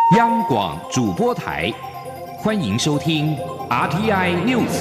央广主播台，欢迎收听 RTI News。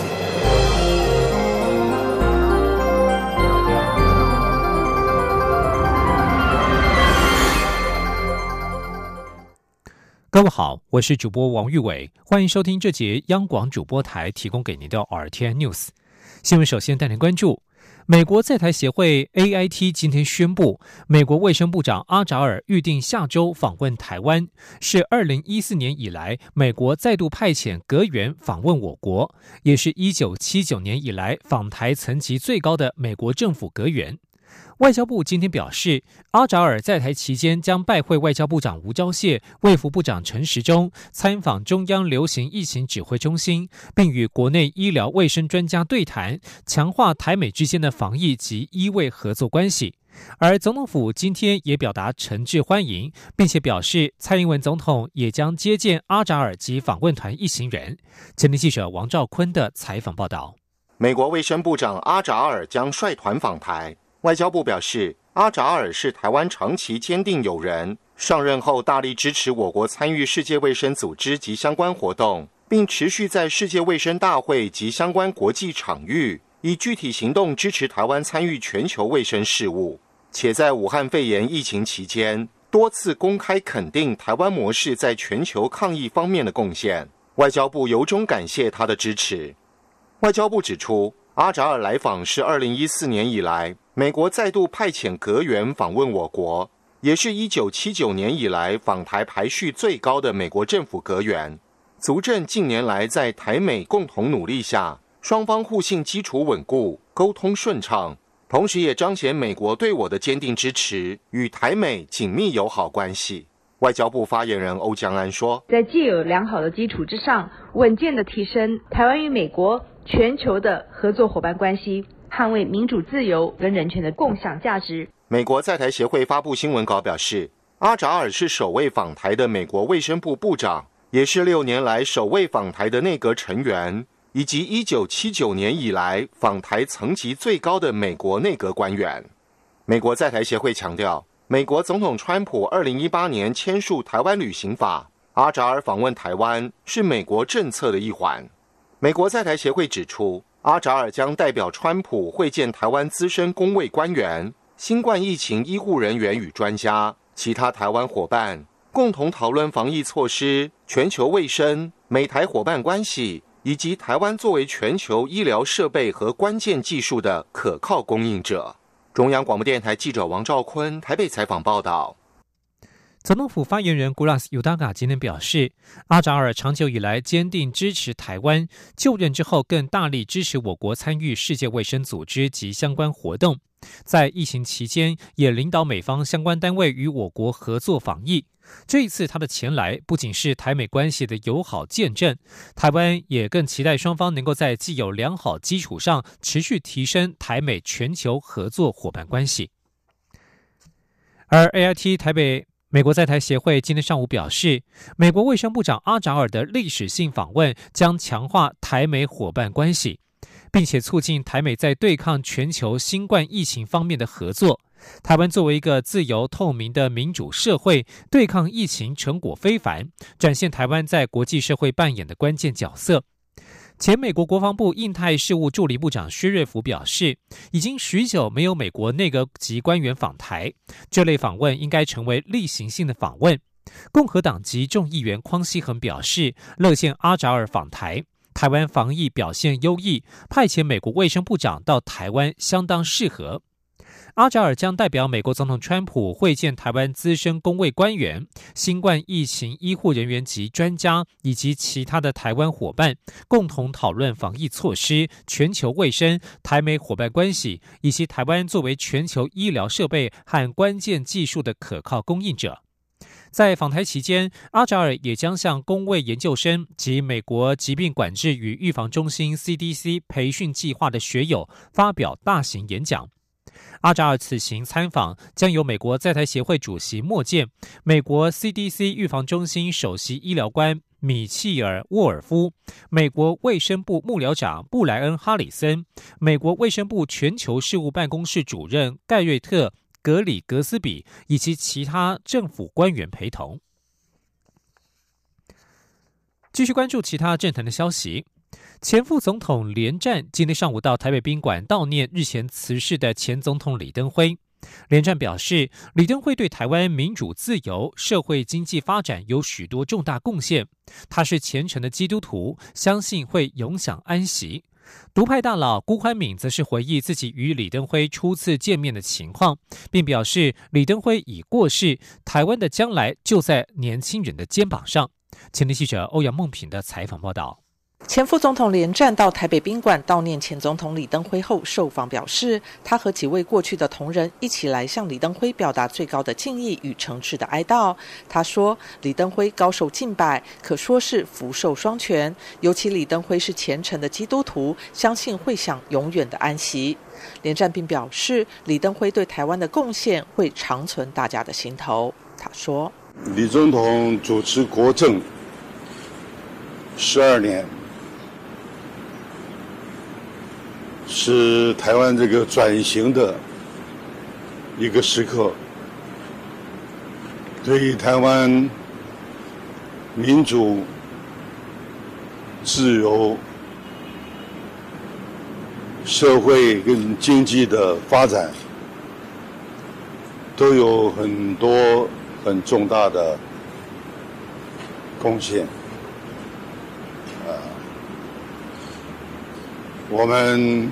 各位好，我是主播王玉伟，欢迎收听这节央广主播台提供给您的 RTI News 新闻。首先带您关注，美国在台协会 AIT 今天宣布，美国卫生部长阿扎尔预定下周访问台湾，是2014年以来美国再度派遣阁员访问我国，也是1979年以来访台层级最高的美国政府阁员。外交部今天表示，阿扎尔在台期间将拜会外交部长吴钊燮、卫福部长陈时中，参访中央流行疫情指挥中心，并与国内医疗卫生专家对谈，强化台美之间的防疫及医卫合作关系。而总统府今天也表达诚挚欢迎，并且表示蔡英文总统也将接见阿扎尔及访问团一行人。前天记者王兆坤的采访报道。 美国卫生部长阿扎尔将率团访台。外交部表示，阿扎尔是台湾长期坚定友人，上任后大力支持我国参与世界卫生组织及相关活动，并持续在世界卫生大会及相关国际场域以具体行动支持台湾参与全球卫生事务，且在武汉肺炎疫情期间多次公开肯定台湾模式在全球抗疫方面的贡献。外交部由衷感谢他的支持。外交部指出，阿扎尔来访是2014年以来美国再度派遣阁员访问我国，也是1979年以来访台排序最高的美国政府阁员，足证近年来在台美共同努力下，双方互信基础稳固，沟通顺畅，同时也彰显美国对我的坚定支持，与台美紧密友好关系。外交部发言人欧江安说， 在既有良好的基础之上，稳健的提升台湾与美国全球的合作伙伴关系，捍卫民主自由跟人权的共享价值。 美国在台协会发布新闻稿表示，阿扎尔是首位访台的美国卫生部部长，也是6年来首位访台的内阁成员，以及1979年以来访台层级最高的美国内阁官员。美国在台协会强调，美国总统川普2018年签署台湾旅行法，阿扎尔访问台湾是美国政策的一环。美国在台协会指出，阿扎尔将代表川普会见台湾资深公卫官员、新冠疫情医护人员与专家、其他台湾伙伴，共同讨论防疫措施、全球卫生、美台伙伴关系，以及台湾作为全球医疗设备和关键技术的可靠供应者。中央广播电台记者王兆坤台北采访报道。 总统府发言人古拉斯尤达嘎今天表示，阿扎尔长久以来坚定支持台湾，就任之后更大力支持我国参与世界卫生组织及相关活动，在疫情期间也领导美方相关单位与我国合作防疫。这一次他的前来不仅是台美关系的友好见证，台湾也更期待双方能够在既有良好基础上持续提升台美全球合作伙伴关系。而 AIT 台北美国在台协会今天上午表示，美国卫生部长阿扎尔的历史性访问将强化台美伙伴关系，并且促进台美在对抗全球新冠疫情方面的合作。台湾作为一个自由透明的民主社会，对抗疫情成果非凡，展现台湾在国际社会扮演的关键角色。前美国国防部印太事务助理部长薛瑞福表示，已经许久没有美国内阁级官员访台，这类访问应该成为例行性的访问。共和党籍众议员匡熙恒表示，乐见阿扎尔访台，台湾防疫表现优异，派遣美国卫生部长到台湾相当适合。阿扎尔将代表美国总统川普会见台湾资深公卫官员、新冠疫情医护人员及专家，以及其他的台湾伙伴，共同讨论防疫措施、全球卫生、台美伙伴关系，以及台湾作为全球医疗设备和关键技术的可靠供应者。在访台期间，阿扎尔也将向公卫研究生及美国疾病管制与预防中心 CDC 培训计划的学友发表大型演讲。阿扎尔此行参访将由美国在台协会主席莫健、美国 CDC 预防中心首席医疗官米切尔·沃尔夫、美国卫生部幕僚长布莱恩·哈里森、美国卫生部全球事务办公室主任盖瑞特·格里格斯比以及其他政府官员陪同。 继续关注其他政坛的消息。前副总统连战今天上午到台北宾馆悼念日前辞世的前总统李登辉。连战表示，李登辉对台湾民主自由、社会经济发展有许多重大贡献。他是虔诚的基督徒，相信会永享安息。独派大佬辜宽敏则是回忆自己与李登辉初次见面的情况，并表示李登辉已过世，台湾的将来就在年轻人的肩膀上。前天记者欧阳梦平的采访报道。 前副总统连战到台北宾馆悼念前总统李登辉后受访表示，他和几位过去的同仁一起来向李登辉表达最高的敬意与诚挚的哀悼。他说，李登辉高寿近百，可说是福寿双全，尤其李登辉是虔诚的基督徒，相信会享永远的安息。连战并表示，李登辉对台湾的贡献会长存大家的心头。他说， 李总统主持国政12年，是台湾这个转型的一个时刻，对于台湾民主、自由、社会跟经济的发展都有很多很重大的贡献。我们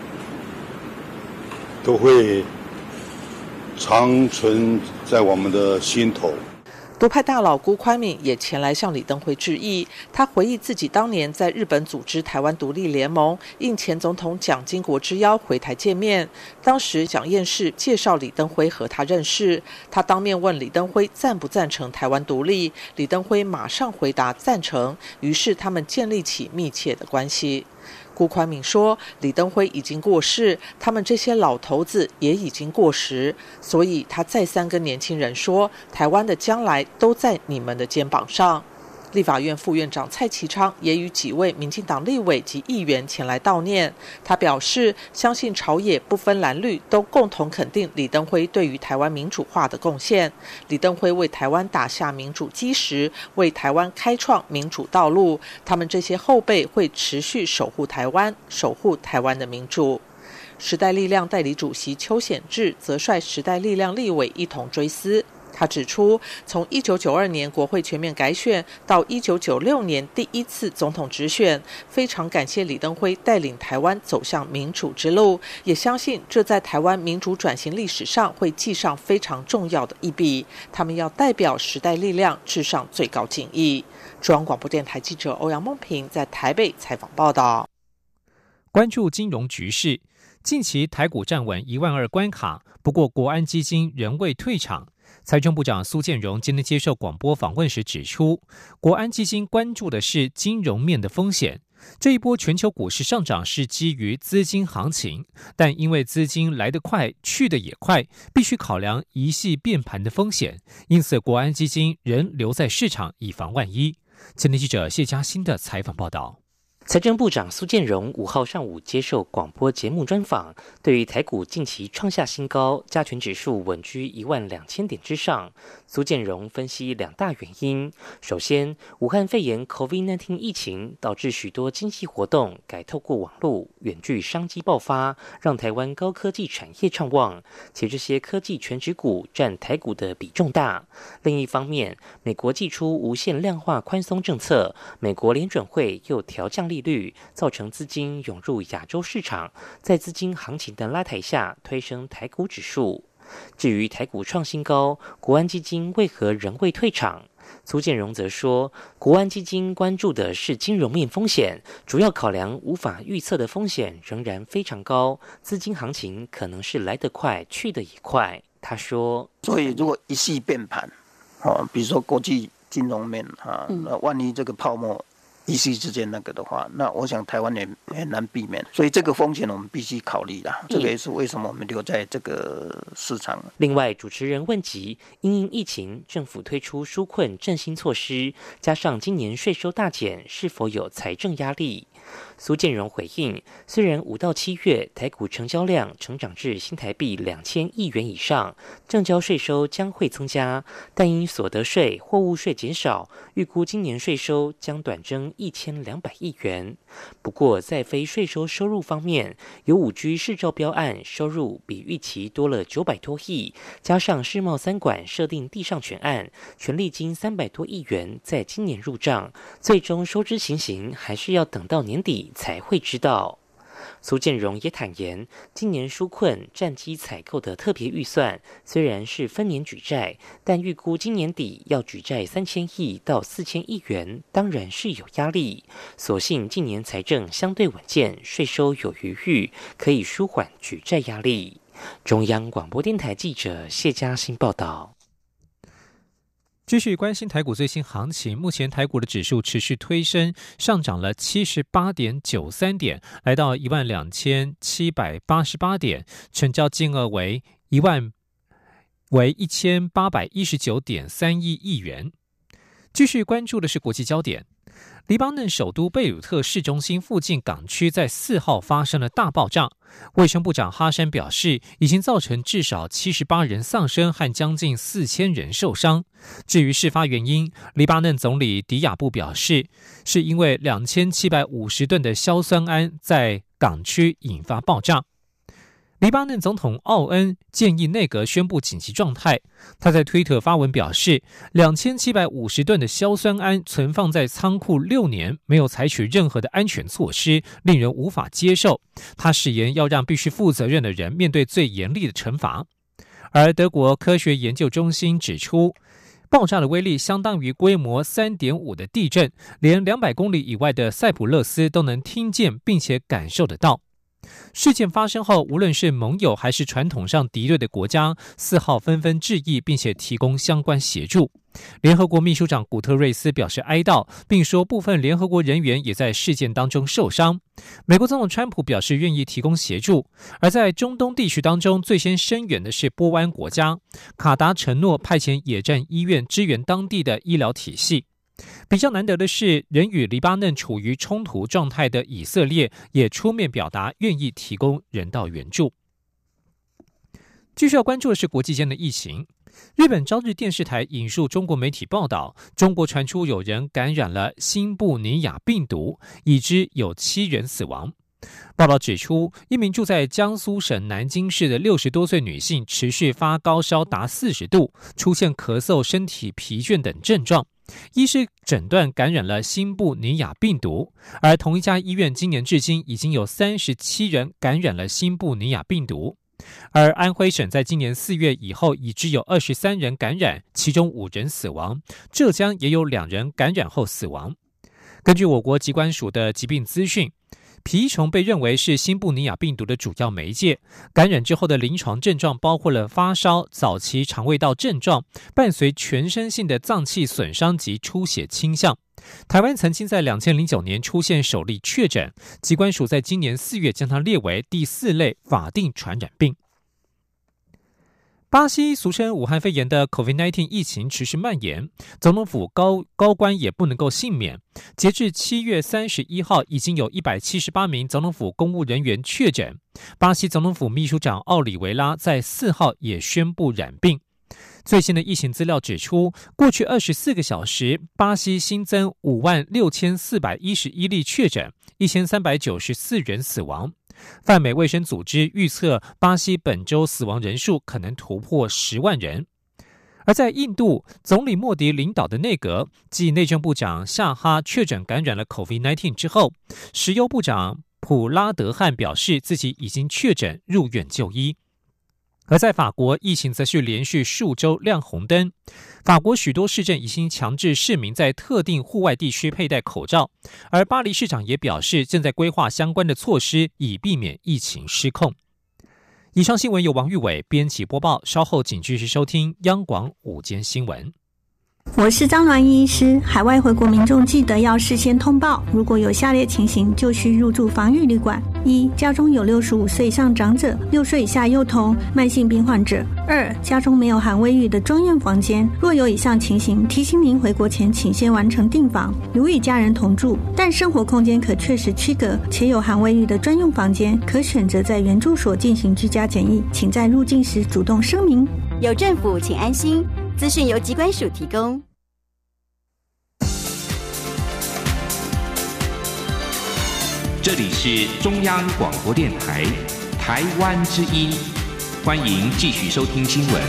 都会长存在我们的心头。 独派大佬辜宽敏也前来向李登辉致意。他回忆自己当年在日本组织台湾独立联盟，应前总统蒋经国之邀回台见面。当时蒋介石介绍李登辉和他认识，他当面问李登辉赞不赞成台湾独立，李登辉马上回答赞成，于是他们建立起密切的关系。辜宽敏说，李登辉已经过世，他们这些老头子也已经过时，所以他再三跟年轻人说，台湾的将来都在你们的肩膀上。立法院副院长蔡其昌也与几位民进党立委及议员前来悼念。他表示，相信朝野不分蓝绿都共同肯定李登辉对于台湾民主化的贡献。李登辉为台湾打下民主基石，为台湾开创民主道路。他们这些后辈会持续守护台湾，守护台湾的民主。时代力量代理主席邱显智则率时代力量立委一同追思。他指出，从1992年国会全面改选到1996年第一次总统直选，非常感谢李登辉带领台湾走向民主之路，也相信这在台湾民主转型历史上会记上非常重要的一笔。他们要代表时代力量致上最高敬意。中央广播电台记者欧阳梦平在台北采访报道。 关注金融局势，近期台股站稳12000关卡，不过国安基金仍未退场。财政部长苏建荣今天接受广播访问时指出，国安基金关注的是金融面的风险。这一波全球股市上涨是基于资金行情，但因为资金来得快，去得也快，必须考量一系变盘的风险，因此国安基金仍留在市场以防万一。前天记者谢嘉欣的采访报道。 财政部长苏建荣5号上午接受广播节目专访，对于台股近期创下新高，加权指数稳居12000点之上，苏建荣分析2大原因。首先，武汉肺炎 COVID-19 疫情导致许多经济活动改透过网络，远距商机爆发，让台湾高科技产业畅旺，且这些科技全指股占台股的比重大。另一方面，美国祭出无限量化宽松政策，美国联准会又调降利率，造成资金涌入亚洲市场，在资金行情的拉抬下推升台股指数。至于台股创新高，国安基金为何仍未退场？苏建荣则说，国安基金关注的是金融面风险，主要考量无法预测的风险仍然非常高，资金行情可能是来得快，去得也快。他说， 所以如果一系变盘，比如说国际金融面那万一这个泡沫 EC 之间那个的话，那我想台湾也很难避免，所以这个风险我们必须考虑啦。这个也是为什么我们留在这个市场。 另外，主持人问及因应疫情，政府推出纾困振兴措施，加上今年税收大减，是否有财政压力？苏建荣回应，虽然5到7月台股成交量成长至新台币2000亿元以上，证交税收将会增加，但因所得税、货物税减少，预估今年税收将短增1200亿元。不过，在非税收收入方面，有5G 市照标案收入比预期多了900多亿，加上世贸3馆设定地上权案，权利金300多亿元在今年入账，最终收支情形还是要等到年底才会知道。苏建荣也坦言，今年纾困战机采购的特别预算虽然是分年举债，但预估今年底要举债3000亿到4000亿元，当然是有压力。所幸近年财政相对稳健，税收有余裕，可以舒缓举债压力。中央广播电台记者谢嘉欣报道。 继续关心台股最新行情，目前台股的指数持续推升，上涨了78.93点，来到12788点，成交金额为1819.31亿元。继续关注的是国际焦点。黎巴嫩首都贝鲁特市中心附近港区在4号发生了大爆炸，卫生部长哈山表示，已经造成至少78人丧生和将近4000人受伤。至于事发原因，黎巴嫩总理迪亚布表示，是因为2750吨的硝酸铵在港区引发爆炸。黎巴嫩总统奥恩建议内阁宣布紧急状态。他在推特发文表示，2750吨的硝酸铵存放在仓库6年，没有采取任何的安全措施，令人无法接受。他誓言要让必须负责任的人面对最严厉的惩罚。而德国科学研究中心指出，爆炸的威力相当于规模 3.5 的地震，连200公里以外的塞浦路斯都能听见并且感受得到。事件发生后，无论是盟友还是传统上敌对的国家，4号纷纷致意，并且提供相关协助。联合国秘书长古特瑞斯表示哀悼，并说部分联合国人员也在事件当中受伤。美国总统川普表示愿意提供协助。而在中东地区当中，最先声援的是波湾国家，卡达承诺派遣野战医院支援当地的医疗体系。比较难得的是，仍与黎巴嫩处于冲突状态的以色列也出面表达愿意提供人道援助。继续要关注的是国际间的疫情。日本朝日电视台引述中国媒体报道，中国传出有人感染了新布尼亚病毒，已知有7人死亡。报道指出，一名住在江苏省南京市的60多岁女性持续发高烧达40度，出现咳嗽、身体疲倦等症状。医师诊断感染了新布尼亚病毒，而同一家医院今年至今已经有37人感染了新布尼亚病毒。而安徽省在今年4月以后已知有23人感染，其中5人死亡。浙江也有2人感染后死亡。根据我国疾管署的疾病资讯，蜱虫被认为是新布尼亚病毒的主要媒介，感染之后的临床症状包括了发烧、早期肠胃道症状，伴随全身性的脏器损伤及出血倾向。台湾曾经在2009年出现首例确诊，疾管署在今年4月将它列为第4类法定传染病。巴西俗称武汉肺炎的 COVID-19 疫情持续蔓延，总统府高官也不能够幸免。截至7月31号，已经有178名总统府公务人员确诊。巴西总统府秘书长奥里维拉在4号也宣布染病。最新的疫情资料指出，过去24个小时，巴西新增56411例确诊，1394人死亡。泛美卫生组织预测，巴西本周死亡人数可能突破10万人。而在印度，总理莫迪领导的内阁继内政部长夏哈确诊感染了 COVID-19 之后，石油部长普拉德汉表示自己已经确诊入院就医。而在法国，疫情则是连续数周亮红灯。法国许多市镇已经强制市民在特定户外地区佩戴口罩，而巴黎市长也表示正在规划相关的措施，以避免疫情失控。以上新闻由王玉伟编辑播报，稍后请继续收听央广午间新闻。 我是张鸾医师。海外回国民众记得要事先通报，如果有下列情形，就需入住防疫旅馆：一、家中有65岁以上长者、6岁以下幼童、慢性病患者；二、家中没有含卫浴的专用房间。若有以上情形，提醒您回国前请先完成订房。如与家人同住，但生活空间可确实区隔，且有含卫浴的专用房间，可选择在原住所进行居家检疫，请在入境时主动声明。 有政府，请安心。资讯由疾管署提供。 这里是中央广播电台台湾之音，欢迎继续收听新闻。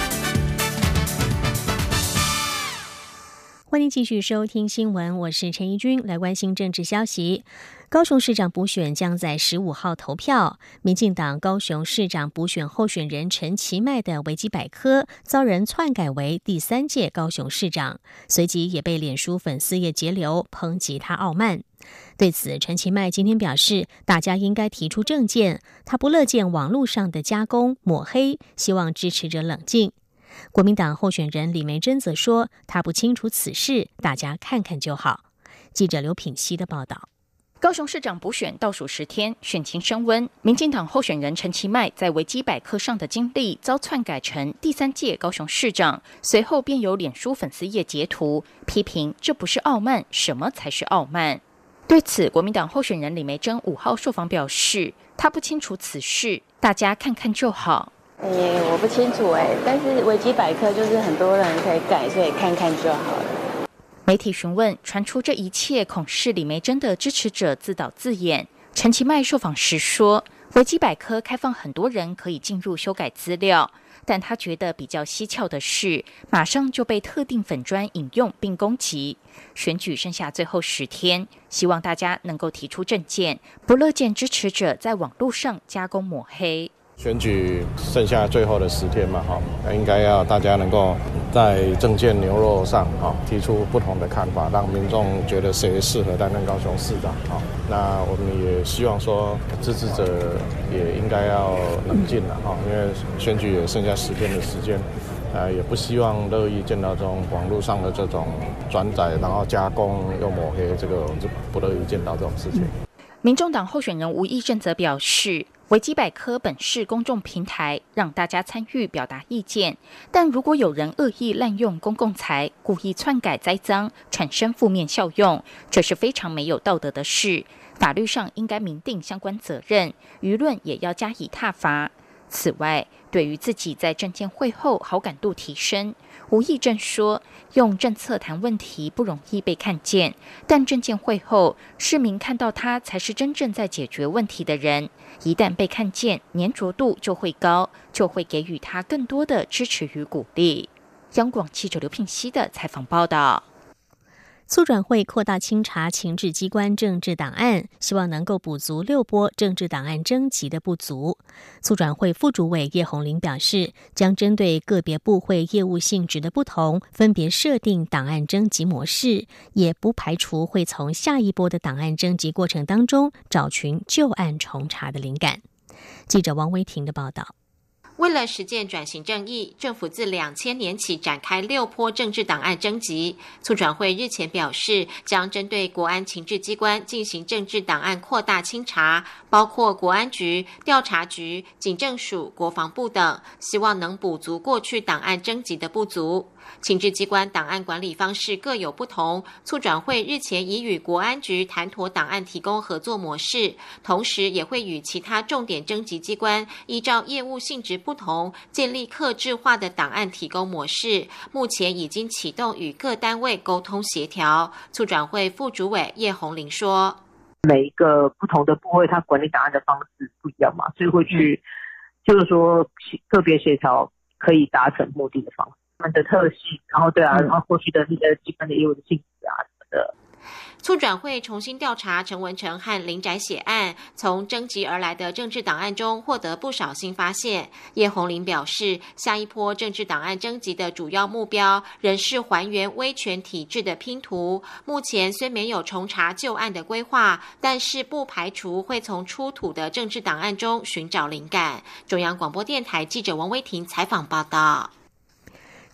欢迎继续收听新闻，我是陈怡君，来关心政治消息。高雄市长补选将在15号投票，民进党高雄市长补选候选人陈其迈的维基百科遭人篡改为第3届高雄市长，随即也被脸书粉丝页截流抨击他傲慢。对此，陈其迈今天表示，大家应该提出政见，他不乐见网络上的加工抹黑，希望支持者冷静。国民党候选人李眉蓁则说，他不清楚此事，大家看看就好。记者刘品希的报道。 高雄市长补选倒数10天，选情升温。民进党候选人陈其迈在维基百科上的经历遭篡改成第3届高雄市长，随后便有脸书粉丝页截图批评这不是傲慢，什么才是傲慢？对此，国民党候选人李眉蓁5号受访表示，他不清楚此事，大家看看就好。 我不清楚但是维基百科就是很多人可以改，所以看看就好了。 媒体询问传出这一切恐是李眉蓁的支持者自导自演，陈其迈受访时说，维基百科开放很多人可以进入修改资料，但他觉得比较蹊跷的是，马上就被特定粉专引用并攻击。选举剩下最后10天，希望大家能够提出政见，不乐见支持者在网络上加工抹黑。 选举剩下最后的10天嘛，应该要大家能够在政见牛肉上提出不同的看法，让民众觉得谁适合担任高雄市长。那我们也希望说支持者也应该要冷静了，因为选举也剩下10天的时间，也不希望乐意见到这种网络上的这种转载，然后加工又抹黑，这个就不乐意见到这种事情。 民众党候选人吴益政则表示，维基百科本是公众平台，让大家参与表达意见，但如果有人恶意滥用公共财，故意篡改栽赃，产生负面效用，这是非常没有道德的事，法律上应该明定相关责任，舆论也要加以挞伐。此外，对于自己在政见会后好感度提升，吴益政说，用政策谈问题不容易被看见，但政见会后，市民看到他才是真正在解决问题的人，一旦被看见，粘着度就会高，就会给予他更多的支持与鼓励。央广记者刘聘熙的采访报道。 促转会扩大清查情治机关政治档案，希望能够补足6波政治档案征集的不足。促转会副主委叶宏麟表示，将针对个别部会业务性质的不同，分别设定档案征集模式，也不排除会从下一波的档案征集过程当中找寻旧案重查的灵感。记者王维婷的报道。 为了实践转型正义，政府自2000年起展开6波政治档案征集。促转会日前表示，将针对国安情治机关进行政治档案扩大清查，包括国安局、调查局、警政署、国防部等，希望能补足过去档案征集的不足。情治机关档案管理方式各有不同，促转会日前已与国安局谈妥档案提供合作模式，同时也会与其他重点征集机关依照业务性质不同，建立客制化的档案提供模式。目前已经启动与各单位沟通协调。促转会副主委叶宏麟说， 每一个不同的部会它管理档案的方式不一样嘛，所以会去就是说个别协调可以达成目的的方式，他们的特性，然后然后过去的那个机关的业务的性质啊什么的。 促转会重新调查陈文成和林宅血案，从征集而来的政治档案中获得不少新发现。叶宏麟表示，下一波政治档案征集的主要目标仍是还原威权体制的拼图。目前虽没有重查旧案的规划，但是不排除会从出土的政治档案中寻找灵感。中央广播电台记者王威婷采访报道。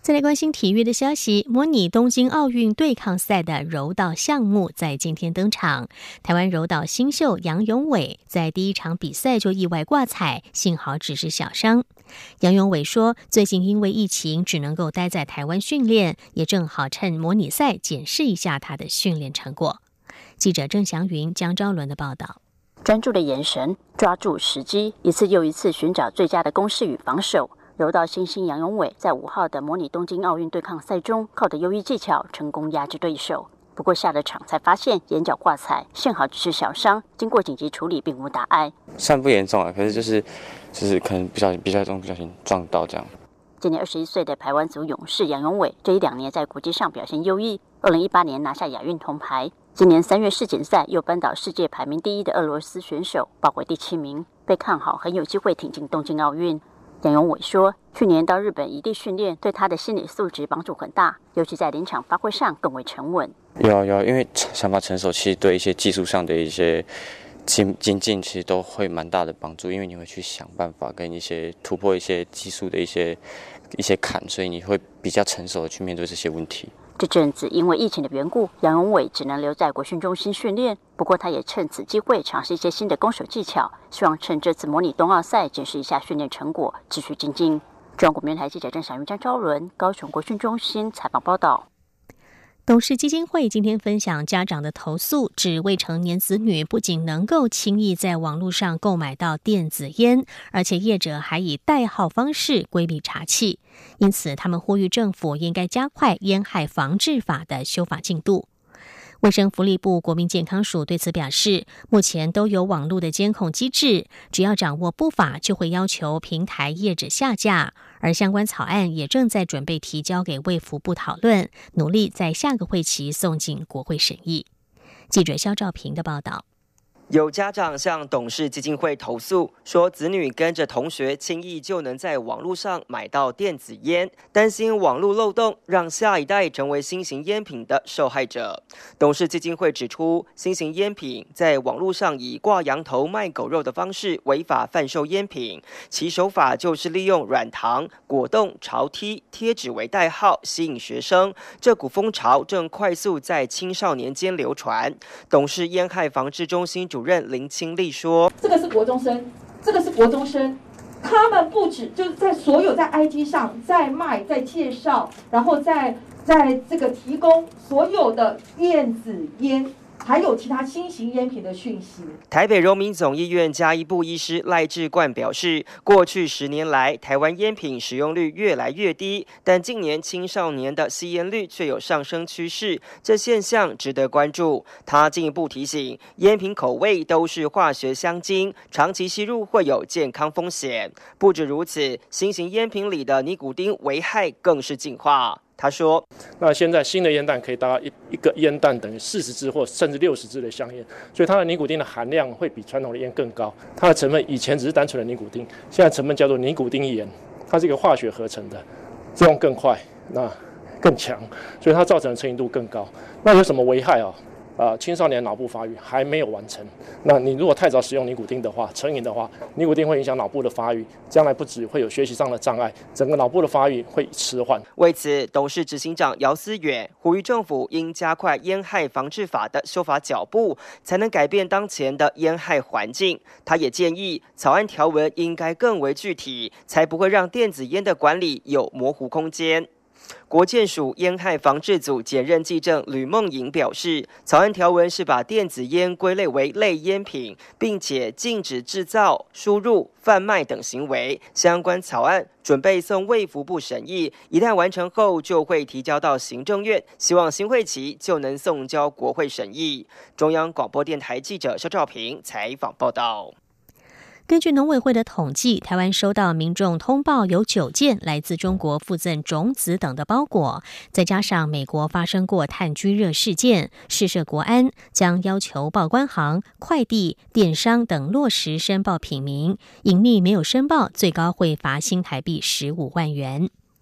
再来关心体育的消息，模拟东京奥运对抗赛的柔道项目在今天登场。台湾柔道新秀杨永伟在第一场比赛就意外挂彩，幸好只是小伤。杨永伟说，最近因为疫情只能够待在台湾训练，也正好趁模拟赛检视一下他的训练成果。记者郑祥云、江昭伦的报道。 专注的眼神，抓住时机，一次又一次寻找最佳的攻势与防守。柔道新星杨永伟在5号的模拟东京奥运对抗赛中，靠着优异技巧成功压制对手。不过下了场才发现眼角挂彩，幸好只是小伤，经过紧急处理并无大碍。 算不严重啊，可是就是可能不小心撞到这样。 今年21岁的排湾族勇士杨永伟，这1-2年在国际上表现优异，2018年拿下亚运铜牌，今年3月世锦赛又扳倒世界排名第1的俄罗斯选手，报回第7名，被看好很有机会挺进东京奥运。杨永伟说，去年到日本异地训练对他的心理素质帮助很大，尤其在临场发挥上更为沉稳。 有，因为想法成熟，其实对一些技术上的一些精进，其实都会蛮大的帮助，因为你会去想办法跟一些突破一些技术的一些坎，所以你会比较成熟的去面对这些问题。 这阵子因为疫情的缘故，杨永伟只能留在国训中心训练。不过他也趁此机会尝试一些新的攻守技巧，希望趁这次模拟冬奥赛检视一下训练成果，继续精进。中央广播电台记者郑祥云、张昭伦高雄国训中心采访报道。 董事基金会今天分享家长的投诉，指未成年子女不仅能够轻易在网络上购买到电子烟，而且业者还以代号方式规避查缉，因此他们呼吁政府应该加快烟害防治法的修法进度。卫生福利部国民健康署对此表示，目前都有网络的监控机制，只要掌握不法，就会要求平台业者下架，而相关草案也正在准备提交给卫福部讨论，努力在下个会期送进国会审议。记者肖兆平的报道。 有家长向董事基金会投诉，说子女跟着同学轻易就能在网络上买到电子烟，担心网络漏洞让下一代成为新型烟品的受害者。董事基金会指出，新型烟品在网络上以挂羊头卖狗肉的方式违法贩售烟品，其手法就是利用软糖、果冻、潮梯、贴纸为代号吸引学生，这股风潮正快速在青少年间流传。董事烟害防治中心主任林清丽说：“ 这个是国中生，这个是国中生，他们不止就是在所有在 IG 上在卖、在介绍，然后在这个提供所有的电子烟。”还有其他新型烟品的讯息。 台北荣民总医院家医部医师赖志冠表示，过去10年来，台湾烟品使用率越来越低，但近年青少年的吸烟率却有上升趋势，这现象值得关注。他进一步提醒，烟品口味都是化学香精，长期吸入会有健康风险。不止如此，新型烟品里的尼古丁危害更是进化。他说：“ 那现在新的烟弹可以达到一个烟弹等于40支或甚至60支的香烟，所以它的尼古丁的含量会比传统的烟更高。它的成分以前只是单纯的尼古丁，现在成分叫做尼古丁盐，它是一个化学合成的，作用更快，那更强，所以它造成的成瘾度更高。那有什么危害啊？青少年脑部发育还没有完成。那你如果太早使用尼古丁的话，成瘾的话，尼古丁会影响脑部的发育，将来不只会有学习上的障碍，整个脑部的发育会迟缓。” 为此，董事执行长姚思远呼吁政府应加快烟害防治法的修法脚步，才能改变当前的烟害环境。他也建议草案条文应该更为具体，才不会让电子烟的管理有模糊空间。国健署烟害防治组检任技正吕梦莹表示，草案条文是把电子烟归类为类烟品，并且禁止制造、输入、贩卖等行为。相关草案准备送卫福部审议，一旦完成后就会提交到行政院，希望新会期就能送交国会审议。中央广播电台记者肖兆平采访报道。 根据农委会的统计，台湾收到民众通报有9件来自中国附赠种子等的包裹，再加上美国发生过炭疽热事件，市社国安将要求报关行、快递、电商等落实申报品名，隐匿没有申报，最高会罚新台币15万元。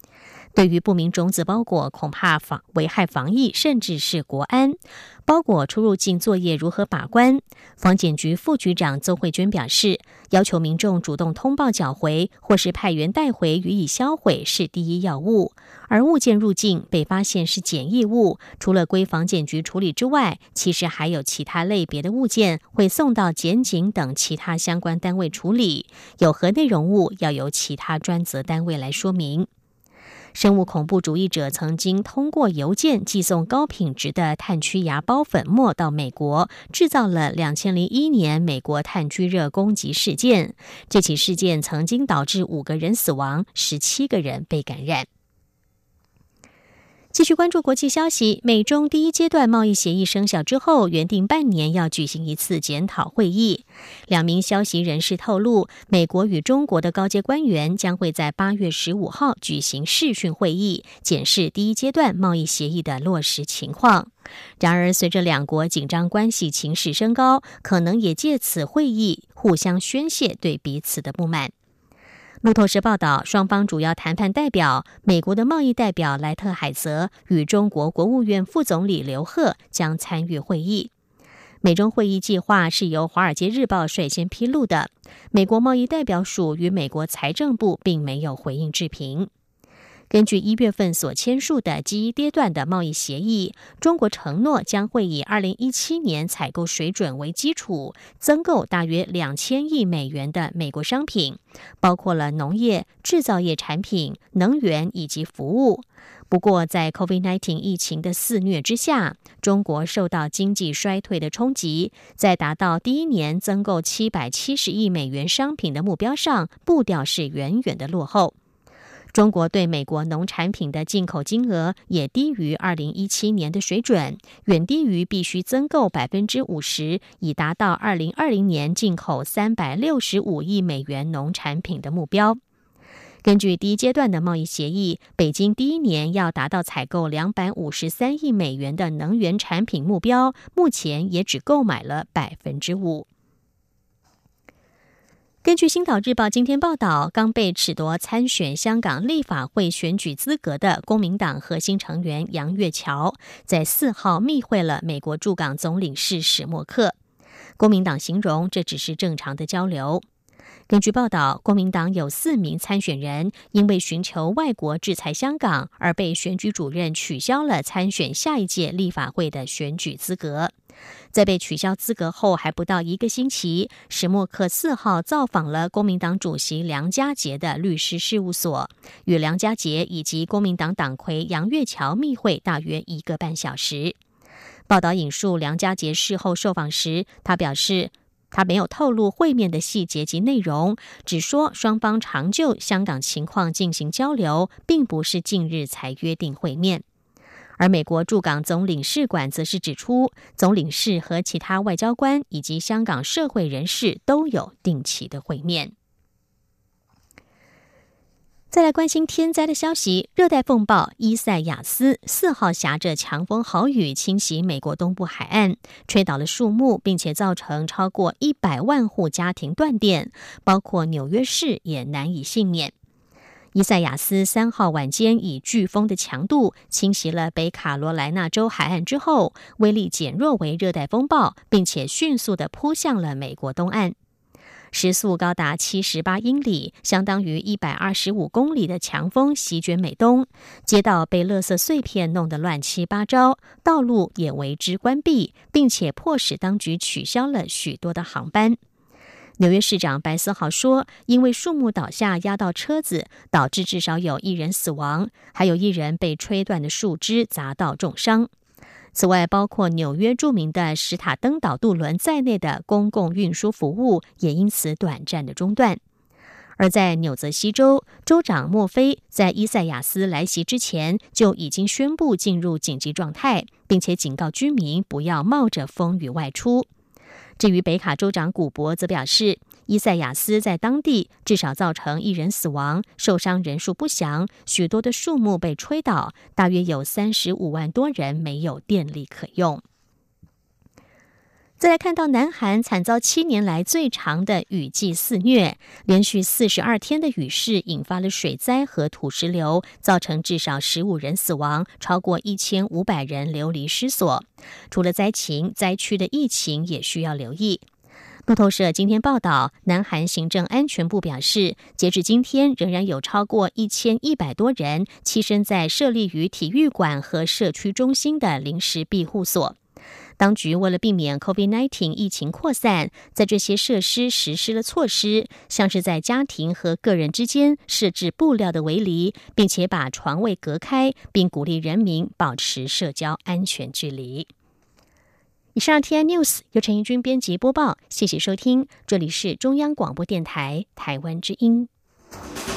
对于不明种子包裹，恐怕危害防疫，甚至是国安。包裹出入境作业如何把关？防检局副局长邹慧娟表示，要求民众主动通报缴回，或是派员带回予以销毁是第一要务。而物件入境被发现是检疫物，除了归防检局处理之外，其实还有其他类别的物件会送到检警等其他相关单位处理，有何内容物要由其他专责单位来说明。生物恐怖主义者曾经通过邮件寄送高品质的炭疽芽孢粉末到美国，制造了2001年美国炭疽热攻击事件。这起事件曾经导致5个人死亡，17个人被感染。继续关注国际消息，美中第一阶段贸易协议生效之后，原定半年要举行一次检讨会议。2名消息人士透露，美国与中国的高阶官员将会在8月15号举行视讯会议，检视第一阶段贸易协议的落实情况。然而，随着两国紧张关系情势升高，可能也借此会议互相宣泄对彼此的不满。路透社报道，双方主要谈判代表美国的贸易代表莱特海泽与中国国务院副总理刘鹤将参与会议。美中会议计划是由《华尔街日报》率先披露的，美国贸易代表署与美国财政部并没有回应置评。根据1月份所签署的第一阶段的贸易协议，中国承诺将会以2017年采购水准为基础，增购大约2000亿美元的美国商品，包括了农业、制造业产品、能源以及服务。不过，在 COVID-19 疫情的肆虐之下，中国受到经济衰退的冲击，在达到第一年增购770亿美元商品的目标上，步调是远远的落后。中国对美国农产品的进口金额也低于2017年的水准，远低于必须增购 50%， 以达到2020年进口365亿美元农产品的目标。根据第一阶段的贸易协议，北京第一年要达到采购253亿美元的能源产品目标，目前也只购买了 5%。根据《星岛日报》今天报道，刚被褫夺参选香港立法会选举资格的公民党核心成员杨岳桥，在4号密会了美国驻港总领事史默克。公民党形容这只是正常的交流。根据报道，公民党有4名参选人因为寻求外国制裁香港，而被选举主任取消了参选下一届立法会的选举资格。在被取消资格后还不到1个星期，史默克4号造访了公民党主席梁家杰的律师事务所，与梁家杰以及公民党党魁杨岳桥密会大约1个半小时。报道引述梁家杰事后受访时，他表示他没有透露会面的细节及内容，只说双方常就香港情况进行交流，并不是近日才约定会面。而美国驻港总领事馆则是指出，总领事和其他外交官以及香港社会人士都有定期的会面。再来关心天灾的消息，热带风暴伊塞亚斯4号挟着强风豪雨侵袭美国东部海岸，吹倒了树木，并且造成超过100万户家庭断电，包括纽约市也难以幸免。伊塞亚斯3号晚间以飓风的强度侵袭了北卡罗来纳州海岸之后，威力减弱为热带风暴，并且迅速地扑向了美国东岸。时速高达78英里，相当于125公里的强风席卷美东，街道被垃圾碎片弄得乱七八糟，道路也为之关闭，并且迫使当局取消了许多的航班。纽约市长白思豪说，因为树木倒下压到车子，导致至少有1人死亡，还有1人被吹断的树枝砸到重伤。此外，包括纽约著名的史塔登岛渡轮在内的公共运输服务也因此短暂的中断。而在纽泽西州，州长莫菲在伊塞亚斯来袭之前就已经宣布进入紧急状态，并且警告居民不要冒着风雨外出。至于北卡州长古博则表示，伊塞亚斯在当地至少造成1人死亡，受伤人数不详，许多的树木被吹倒，大约有35万多人没有电力可用。 再来看到南韩惨遭7年来最长的雨季肆虐，连续42天的雨势引发了水灾和土石流，造成至少15人死亡，超过1500人流离失所。除了灾情，灾区的疫情也需要留意。路透社今天报道，南韩行政安全部表示，截至今天仍然有超过1100多人栖身在设立于体育馆和社区中心的临时庇护所。当局为了避免 COVID-19 疫情扩散，在这些设施实施了措施，像是在家庭和个人之间设置布料的围篱，并且把床位隔开，并鼓励人民保持社交安全距离。以上 TI News 由陈怡君编辑播报，谢谢收听，这里是中央广播电台台湾之音。